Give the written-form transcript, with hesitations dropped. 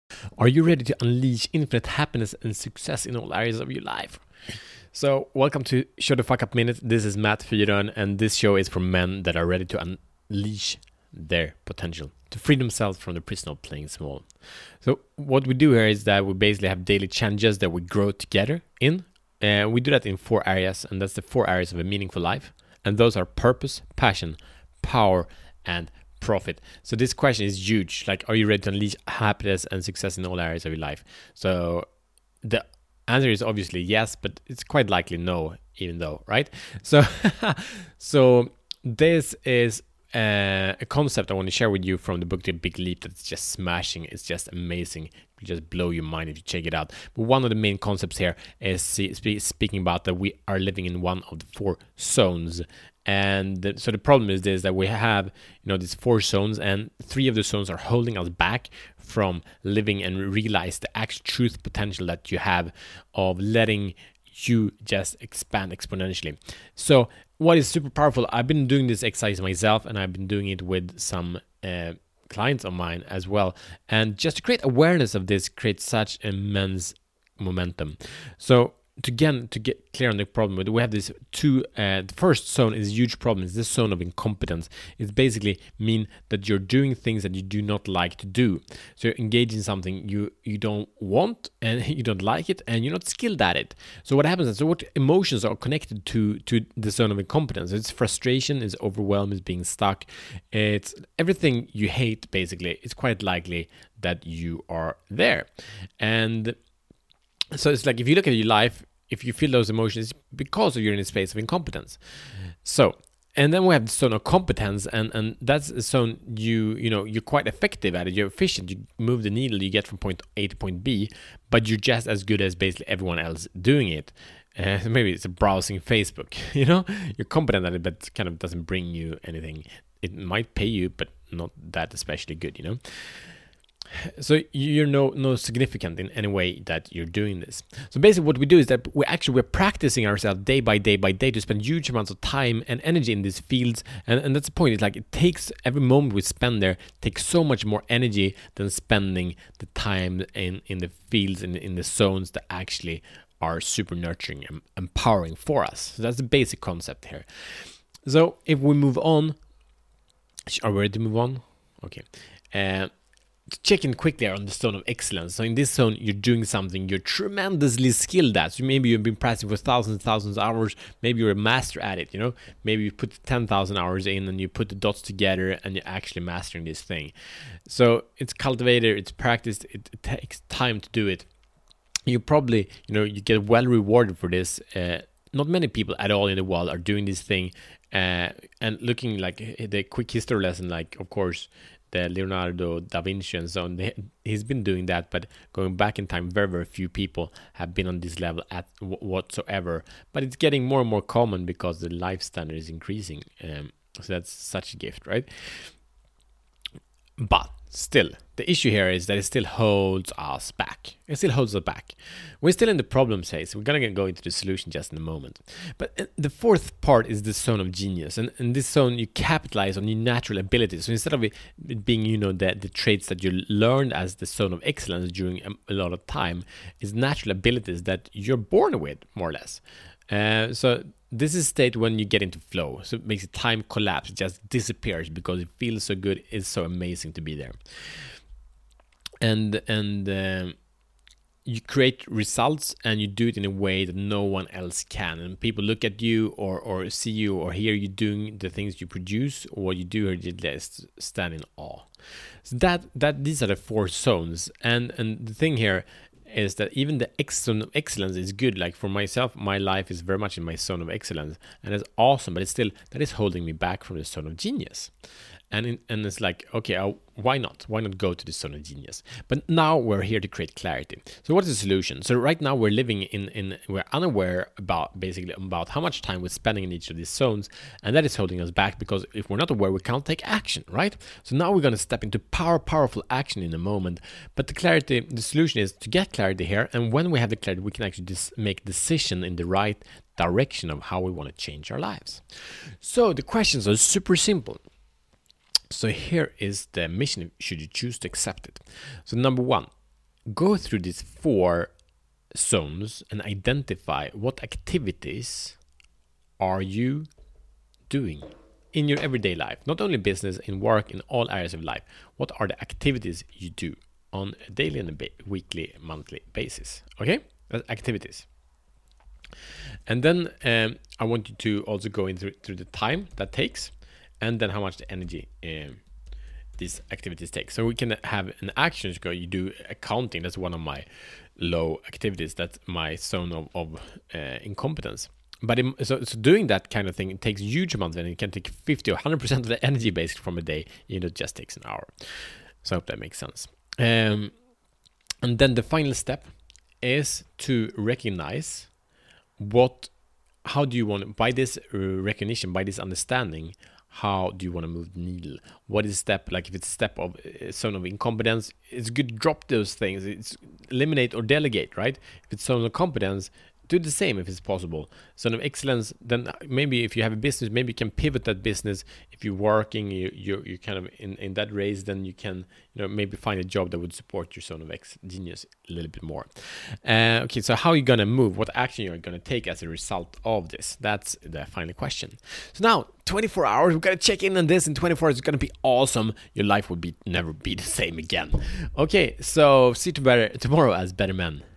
Are you ready to unleash infinite happiness and success in all areas of your life? So, welcome to Show the Fuck Up Minute. This is Matt Fyron, and this show is for men that are ready to unleash their potential, to free themselves from the prison of playing small. So, what we do here is that we basically have daily challenges that we grow together in. And we do that in 4 areas, and that's the 4 areas of a meaningful life. And those are purpose, passion, power, and profit. So this question is huge. Like, are you ready to unleash happiness and success in all areas of your life? So the answer is obviously yes, but it's quite likely no, even though, right? So, so this is a concept I want to share with you from the book The Big Leap that's just smashing. It's just amazing. It will just blow your mind if you check it out. But one of the main concepts here is speaking about that we are living in one of the 4 zones. And so the problem is this, that we have, these 4 zones, and 3 of the zones are holding us back from living and realize the actual truth potential that you have of letting you just expand exponentially. So what is super powerful, I've been doing this exercise myself, and I've been doing it with some clients of mine as well. And just to create awareness of this creates such immense momentum. So to get clear on the problem, we have this 2. The first zone is a huge problem. It's this zone of incompetence. It basically mean that you're doing things that you do not like to do. So you're engaged in something you don't want, and you don't like it, and you're not skilled at it. So what happens is, so what emotions are connected to the zone of incompetence? It's frustration, it's overwhelm, it's being stuck. It's everything you hate, basically. It's quite likely that you are there. And so it's like, if you look at your life, if you feel those emotions, because you're in a space of incompetence. So, and then we have the zone of competence, and that's a zone you're quite effective at it. You're efficient. You move the needle. You get from point A to point B, but you're just as good as basically everyone else doing it. Maybe it's browsing Facebook. You're competent at it, but kind of doesn't bring you anything. It might pay you, but not that especially good. So you're no significant in any way that you're doing this. So basically what we do is that we're practicing ourselves day by day to spend huge amounts of time and energy in these fields. And that's the point. It's like, it takes, every moment we spend there takes so much more energy than spending the time in the fields, in the zones that actually are super nurturing and empowering for us. So that's the basic concept here. So if we move on, are we ready to move on? Okay. Check in quickly on the zone of excellence. So in this zone, you're doing something you're tremendously skilled at. So maybe you've been practicing for thousands of hours. Maybe you're a master at it. Maybe you put 10,000 hours in, and you put the dots together, and you're actually mastering this thing. So it's cultivated, it's practiced, it takes time to do it. You probably, you get well rewarded for this. Not many people at all in the world are doing this thing. And looking like the quick history lesson, like, of course, the Leonardo da Vinci and so on, he's been doing that, but going back in time, very, very few people have been on this level at whatsoever. But it's getting more and more common because the life standard is increasing. So that's such a gift, right? But still, the issue here is that it still holds us back. It still holds us back. We're still in the problem phase. We're going to go into the solution just in a moment. But the 4th part is the zone of genius. And in this zone, you capitalize on your natural abilities. So instead of it being, the traits that you learned as the zone of excellence during a lot of time, is natural abilities that you're born with, more or less. So this is a state when you get into flow. So it makes the time collapse. It just disappears because it feels so good. It's so amazing to be there. And you create results, and you do it in a way that no one else can. And people look at you or see you or hear you doing the things you produce, or what you do, or you just stand in awe. So that these are the 4 zones. And the thing here is that even the zone of excellence is good. Like, for myself, my life is very much in my zone of excellence, and it's awesome, but it's still, that is holding me back from the zone of genius. And it's like, okay, why not? Why not go to the zone of genius? But now we're here to create clarity. So what is the solution? So right now we're living we're unaware about how much time we're spending in each of these zones, and that is holding us back, because if we're not aware, we can't take action, right? So now we're going to step into powerful action in a moment. But the solution is to get clarity here, and when we have the clarity, we can actually make decision in the right direction of how we want to change our lives. So the questions are super simple. So here is the mission should you choose to accept it. So number 1, go through these 4 zones and identify what activities are you doing in your everyday life, not only business, in work, in all areas of life. What are the activities you do on a daily and a weekly, monthly basis? Okay, that's activities. And then I want you to also go through the time that takes, and then how much the energy these activities take. So we can have an action. You do accounting. That's one of my low activities. That's my zone of incompetence. But so doing that kind of thing, it takes huge amounts, and it can take 50 or 100% of the energy basically from a day. It just takes an hour. So I hope that makes sense. And then the final step is to recognize how do you want, by this recognition, by this understanding, how do you want to move the needle? What is step, like if it's a step of zone of incompetence, it's good to drop those things. It's eliminate or delegate, right? If it's zone of competence, do the same if it's possible. Zone of excellence, then maybe if you have a business, maybe you can pivot that business. If you're working, you're kind of in that race, then you can maybe find a job that would support your zone of genius a little bit more. Okay, so how are you gonna move? What action you're gonna take as a result of this? That's the final question. So now 24 hours, we've got to check in on this. In 24 hours, it's gonna be awesome. Your life will never be the same again. Okay, so see you tomorrow as better men.